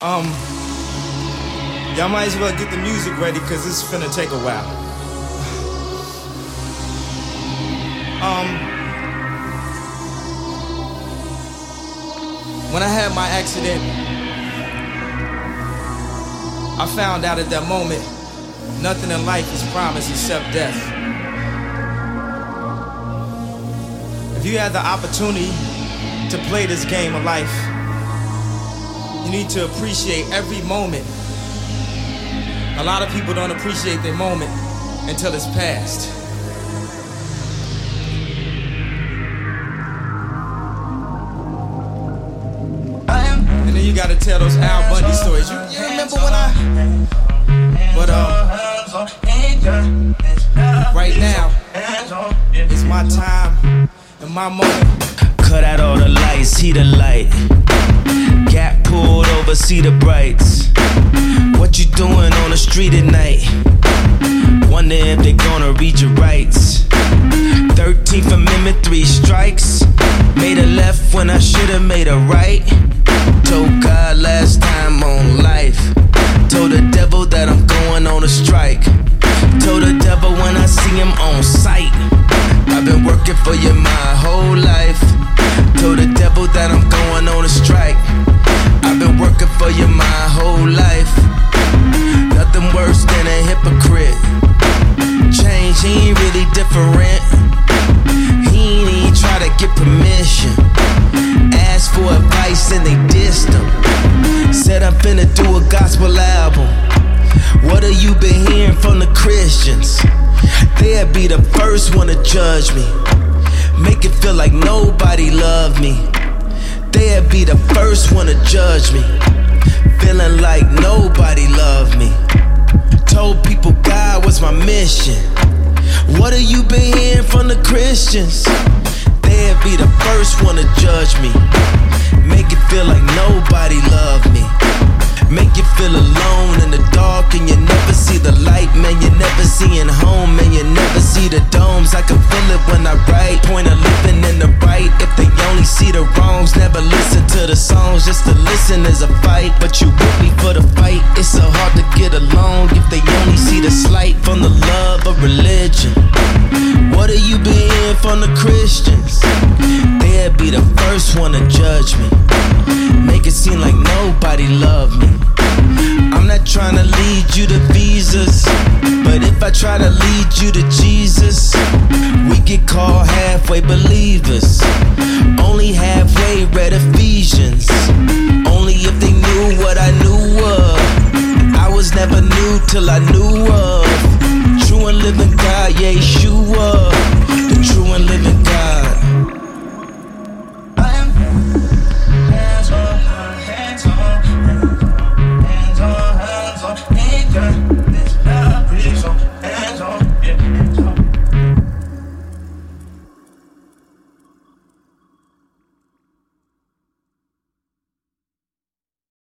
Y'all might as well get the music ready, cause it's finna take a while. When I had my accident, I found out at that moment, nothing in life is promised except death. If you had the opportunity to play this game of life, you need to appreciate every moment. A lot of people don't appreciate their moment until it's past. And then you gotta tell those Al Bundy stories. You remember when right now, it's my time and my moment. Cut out all the lights, see the light. Gap pulled over, see the brights. What you doing on the street at night? Wonder if they gonna read your rights. 13th Amendment, 3 strikes. Made a left when I should've made a right. Told God last time on life. Told the devil that I'm going on a strike. Told the devil when I see him on sight. I've been working for you my whole life. Told the devil that I'm going on a strike. I've been working for you my whole life. Nothing worse than a hypocrite. Change, he ain't really different. He ain't even try to get permission. Asked for advice and they dissed him. Said I'm finna do a gospel album. What have you been hearing from the Christians? They'll be the first one to judge me. Make it feel like nobody loved me. They'll be the first one to judge me. Feeling like nobody loved me. Told people God was my mission. What have you been hearing from the Christians? They'll be the first one to judge me. Make it feel like nobody loved me. Make you feel alone in the dark and you never see the light, man. You never seeing home, man. You never see the domes. I can feel it when I write. Point of living in the right. If they only see the wrongs, never listen to the songs. Just to listen is a fight, but you with me for the fight. It's so hard to get along if they only see the slight from the love of religion. What have you been hearing from the Christians? They'll be the first one to judge me. Make it seem like nobody loved me. I'm not trying to lead you to visas, but if I try to lead you to Jesus, we get called halfway believers. Only halfway read Ephesians. Only if they knew what I knew of. I was never new till I knew of. True and living God, Yeshua.